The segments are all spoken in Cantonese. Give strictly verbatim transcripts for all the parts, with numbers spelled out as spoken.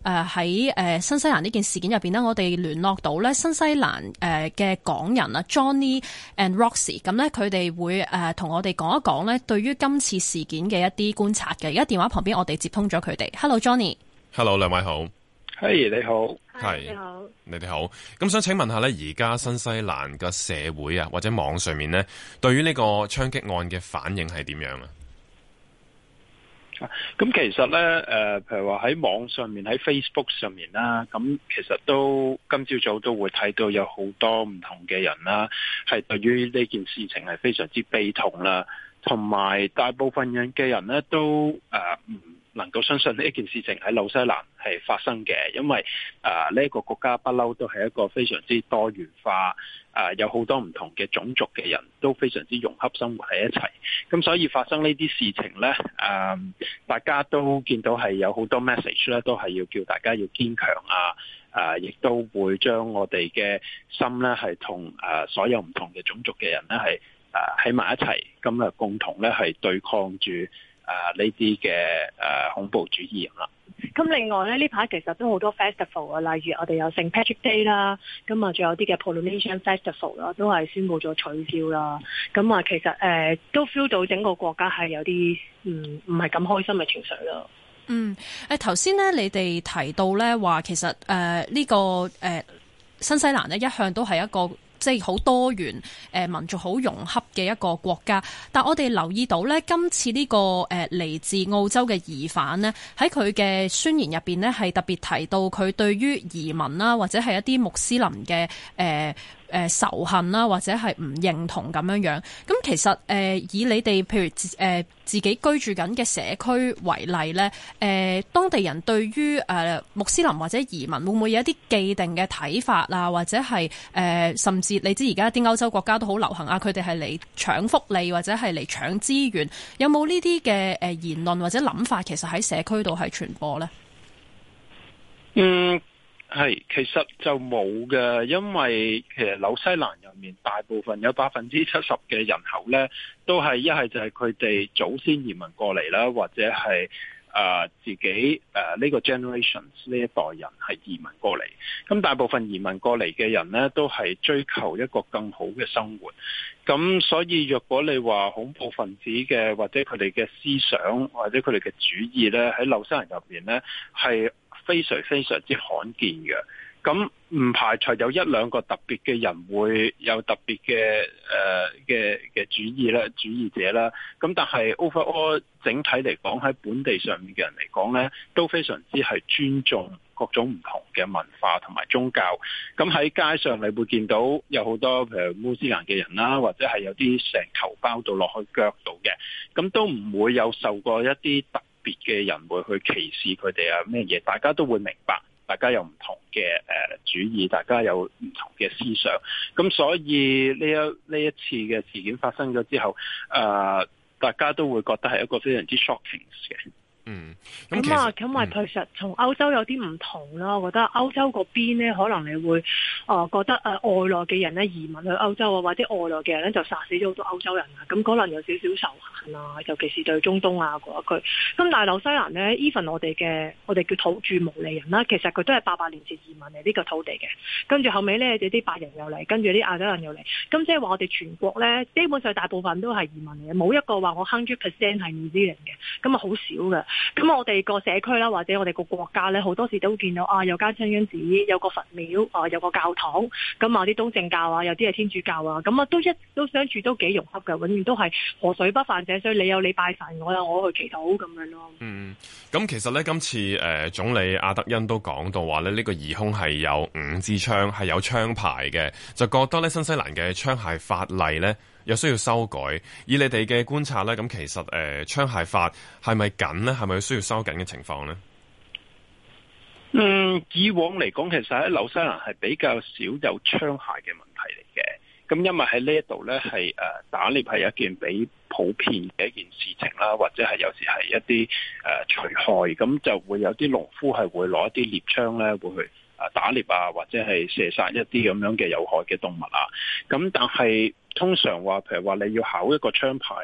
喺誒新西蘭呢件事件入邊呢，我哋聯絡到咧新西蘭誒嘅港人啊 Johnny and Roxy， 咁咧佢哋會誒同我哋講一講咧對於今次事件嘅一啲觀察嘅。而家電話旁邊我哋接通咗佢哋。Hello Johnny。Hello 兩位好。 係、hey, 你好。 係你好。你哋好。咁想請問下咧，而家新西蘭嘅社會啊，或者網上面咧，對於呢個槍擊案嘅反應係點樣啊？ 咁其實咧，誒、呃，譬如話喺網上面，喺 Facebook 上面啦，咁其實都今朝早都會睇到有好多唔同嘅人啦，係對於呢件事情係非常之悲痛啦，同埋大部分人嘅人咧都誒唔、呃、能夠相信呢一件事情喺紐西蘭係發生嘅，因為誒呢一個國家不嬲都係一個非常之多元化。誒、呃、有好多唔同嘅種族嘅人都非常之融洽生活喺一齊，咁所以發生呢啲事情呢，誒、呃、大家都見到係有好多 message 咧，都係要叫大家要堅強啊，誒、呃、亦都會將我哋嘅心呢係同誒所有唔同嘅種族嘅人呢係誒喺埋一齊，咁啊共同呢係對抗住誒呢啲嘅誒恐怖主義啦。 咁另外咧，呢排其實都好多 festival 啊，例如我哋有聖 Patrick Day 啦，咁啊仲有啲嘅 Polynesian Festival 啦，都係宣布咗取消啦。咁啊，其實誒、呃、都 feel 到整個國家係有啲唔唔係咁開心嘅情緒咯。 嗯，誒頭先咧，你哋提到咧話，其實誒呢、呃這個誒、呃、新西蘭咧一向都係一個即係好多元誒、呃、民族好融洽嘅一個國家，但我哋留意到咧，今次呢、這個誒嚟、呃、自澳洲嘅疑犯呢，喺佢嘅宣言入邊呢，係特別提到佢對於移民啦，或者係一啲穆斯林嘅誒。呃誒、呃、仇恨啦，或者係唔認同咁樣樣。咁其實誒、呃、以你哋譬如誒、呃、自己居住緊嘅社區為例咧，誒、呃、當地人對於誒、呃、穆斯林或者移民會唔會有一啲既定嘅睇法啊？或者係誒、呃、甚至你知而家啲歐洲國家都好流行啊，佢哋係嚟搶福利或者係嚟搶資源，有冇呢啲嘅誒言論或者諗法？其實喺社區度係傳播咧？ 嗯。係，其實就冇嘅，因為其實紐西蘭入面大部分有百分之七十嘅人口咧，都係一係就係佢哋祖先移民過嚟啦，或者係誒、呃、自己誒呢、呃這個 generations 呢一代人係移民過嚟。咁大部分移民過嚟嘅人咧，都係追求一個更好嘅生活。咁所以若果你話恐怖分子嘅或者佢哋嘅思想或者佢哋嘅主義咧，喺紐西蘭入面咧係非常非常之罕見嘅，咁唔排除有一兩個特別嘅人會有特別嘅誒嘅嘅主義啦、主義者啦，咁但係 overall 整體嚟講喺本地上面嘅人嚟講咧，都非常之係尊重各種唔同嘅文化同埋宗教。咁喺街上你會見到有好多譬如穆斯林嘅人啦，或者係有啲成頭包到落去腳度嘅，咁都唔會有受過一啲特別嘅人會去歧視佢哋啊咩嘢，大家都會明白，大家有唔同嘅誒主義，大家有唔同嘅思想，咁所以呢一呢一次嘅事件發生咗之後，誒、呃、大家都會覺得係一個非常之 shocking 嘅。 嗯， 咁啊，咁啊，其實從歐洲有啲唔同啦。我覺得歐洲嗰邊咧，可能你會啊、呃、覺得誒、呃、外來嘅人咧移民去歐洲啊，或者外來嘅人咧就殺死咗好多歐洲人啊，咁可能有少少仇恨啊，尤其是對中東啊嗰一區。咁但係紐西蘭咧 even 我哋嘅我哋叫土著毛利人啦，其實佢都係八百年前移民嚟呢個土地嘅。跟住後尾咧，啲啲白人又嚟，跟住啲亞洲人又嚟。咁即係話我哋全國咧，基本上大部分都係移民嚟嘅，冇一個話我 hundred percent 係 New Zealand 嘅，咁啊好少嘅。咁我哋個社區啦，或者我哋個國家咧，好多時都見到啊，有間清真寺，有個佛廟，啊，有個教堂，咁啊啲東正教啊，有啲係天主教啊，咁啊都一都相處都幾融洽嘅，永遠都係河水不犯井水，你有你拜神，我有我去祈禱咁樣咯。嗯， 咁其實咧，今次誒、呃、總理阿德恩都講到話咧，呢、這個疑兇係有五支槍，係有槍牌嘅，就覺得咧新西蘭嘅槍械法例咧，有需要修改，以你哋嘅觀察咧，咁其實誒、呃、槍械法係咪緊呢？係咪需要收緊嘅情況呢？ 嗯，以往嚟講，其實喺紐西蘭係比較少有槍械嘅問題嚟嘅。咁因為喺呢一度咧，係誒打獵係一件比普遍嘅一件事情啦，或者係有時係一啲誒除害，咁就會有啲農夫係會攞一啲獵槍咧，會去誒打獵啊，或者係射殺一啲咁樣嘅有害嘅動物啊。咁但係通常話，譬如話你要考一個槍牌，誒、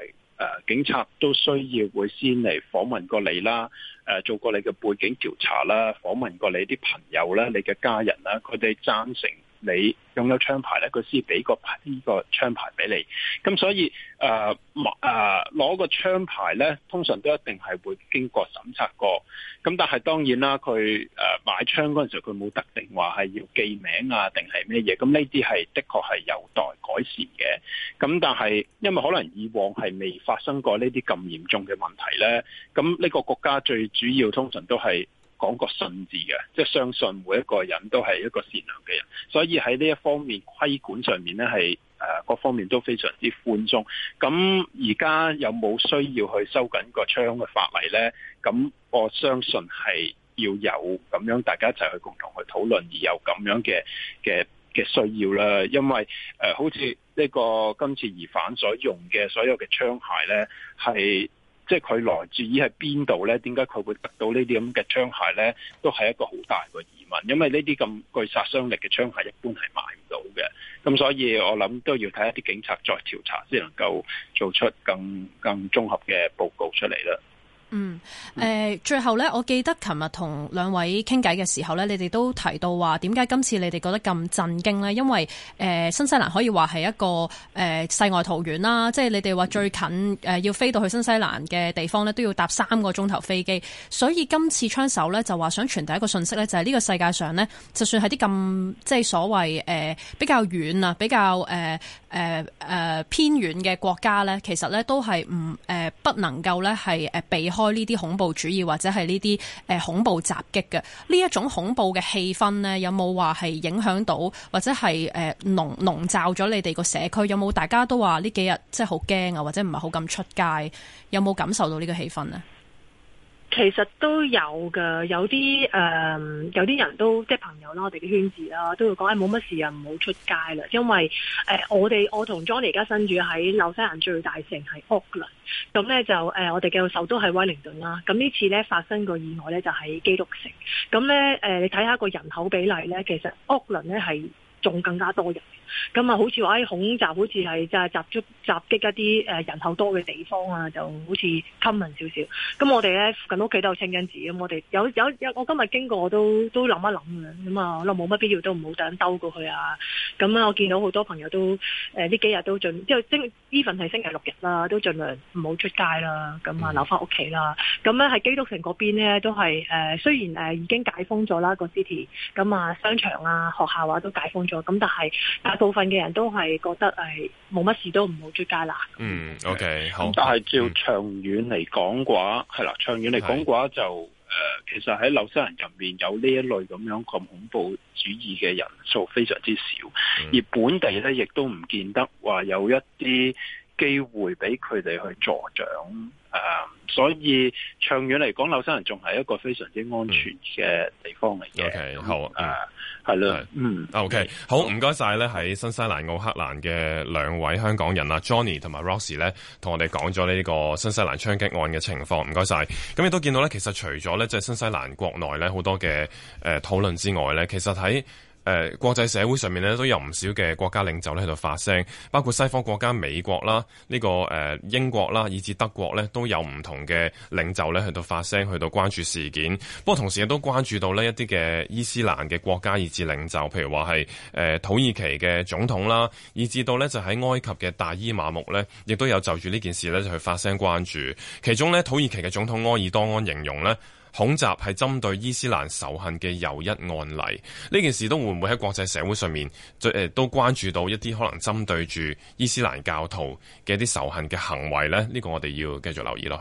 呃、警察都需要會先嚟訪問過你啦，誒、呃、做過你嘅背景調查啦，訪問過你啲朋友啦、你嘅家人啦，佢哋贊成你擁有槍牌咧，佢先俾個呢個槍牌俾你。咁所以誒誒攞個槍牌咧，通常都一定係會經過審查過。咁但係當然啦，佢誒、呃、買槍嗰陣時候，佢冇特定話係要記名啊，定係咩嘢。咁呢啲係的確係有待改善嘅。咁但係因為可能以往係未發生過呢啲咁嚴重嘅問題咧，咁呢個國家最主要通常都係講個信字嘅，即係相信每一個人都係一個善良嘅人，所以喺呢一方面規管上面咧係誒各方面都非常之寬鬆。咁而家有冇需要去收緊個槍嘅法例咧？咁我相信係要有咁樣大家一齊去共同去討論，而有咁樣嘅嘅嘅需要啦。因為誒、呃、好似呢個今次疑犯所用嘅所有嘅槍械咧係。即係佢來自於喺邊度咧？點解佢會得到呢啲咁嘅槍械咧？都係一個好大個疑問。因為呢啲咁具殺傷力嘅槍械一般係買唔到嘅。咁所以我諗都要睇一啲警察再調查，先能夠做出更更綜合嘅報告出嚟啦。 嗯，誒、呃，最後咧，我記得琴日同兩位傾偈嘅時候咧，你哋都提到話點解今次你哋覺得咁震驚咧？因為誒、呃、新西蘭可以話係一個誒、呃、世外桃源啦，即係你哋話最近誒、呃、要飛到去新西蘭嘅地方咧，都要搭三個鐘頭飛機，所以今次槍手咧就話想傳遞一個信息咧，就係、是、呢個世界上咧，就算係啲咁即係所謂誒、呃、比較遠啊、比較誒誒誒偏遠嘅國家咧，其實咧都係唔誒不能夠咧係誒避開呢啲恐怖主義或者係呢啲誒恐怖襲擊嘅呢一種恐怖嘅氣氛呢，有冇話係影響到或者係誒籠籠罩咗你哋個社區？有冇大家都話呢幾日即係好驚啊，或者唔係好敢出街？有冇感受到呢個氣氛呢？ 其實都有㗎，有啲誒、呃，有啲人都即係朋友啦，我哋嘅圈子啦，都會講誒冇乜事啊，唔好出街啦。因為誒、呃，我哋我同 Johnny 而家身處喺紐西蘭最大城係 Auckland，咁咧就誒、呃，我哋嘅首都係威靈頓啦。咁呢次咧發生個意外咧就喺基督城。咁咧誒，你睇下個人口比例咧，其實 Auckland 咧係仲更加多人。咁啊，好似話喺恐襲，好似係就係襲擊襲擊一啲誒人口多嘅地方啊，就好似 common 少少。咁我哋咧附近屋企都有清真寺，咁我哋有有有，我今日經過我都都諗一諗嘅，咁啊，我諗冇乜必要都唔好突然兜過去啊。咁啊，我見到好多朋友都誒呢、呃、幾日都盡，即係星 even 係星期六日啦，都盡量唔好出街啦，咁啊留翻屋企啦。咁咧喺基督城嗰邊咧都係誒、呃，雖然誒、呃、已經解封咗啦個 city，咁啊商場啊學校啊都解封咗，咁但係大部分嘅人都係覺得誒冇乜事都唔好出街啦。 嗯 ，OK， 好。 但係照長遠嚟講嘅話，係、嗯、啦，長遠嚟講嘅話就誒、呃，其實喺紐西蘭入面有呢一類咁樣咁恐怖主義嘅人數非常之少，嗯、而本地咧亦都唔見得話有一啲機會俾佢哋去助長。誒、呃，所以長遠嚟講，紐西蘭仲係一個非常之安全嘅地方嚟嘅。 OK， 好誒。呃係啦，嗯 ，OK， 好，唔該晒咧，喺新西蘭奧克蘭嘅兩位香港人啊 ，Johnny 同埋 Roxy 咧，同我哋講咗呢個新西蘭槍擊案嘅情況，唔該晒。咁亦都見到咧，其實除咗咧，即係新西蘭國內咧好多嘅誒討論之外咧，其實喺誒、呃、國際社會上面咧都有唔少嘅國家領袖咧喺度發聲，包括西方國家美國啦、呢、這個誒、呃、英國啦，以至德國咧都有唔同嘅領袖咧去到發聲，去到關注事件。不過同時亦都關注到呢一啲嘅伊斯蘭嘅國家以至領袖，譬如話係誒土耳其嘅總統啦，以至到咧就喺埃及嘅大伊馬木咧，亦都有就住呢件事咧就去發聲關注。其中咧土耳其嘅總統埃爾多安形容咧，恐襲係針對伊斯蘭仇恨嘅又一案例，呢件事都會唔會喺國際社會上面，誒都關注到一啲可能針對住伊斯蘭教徒嘅一啲仇恨嘅行為呢？呢、呢個我哋要繼續留意落去。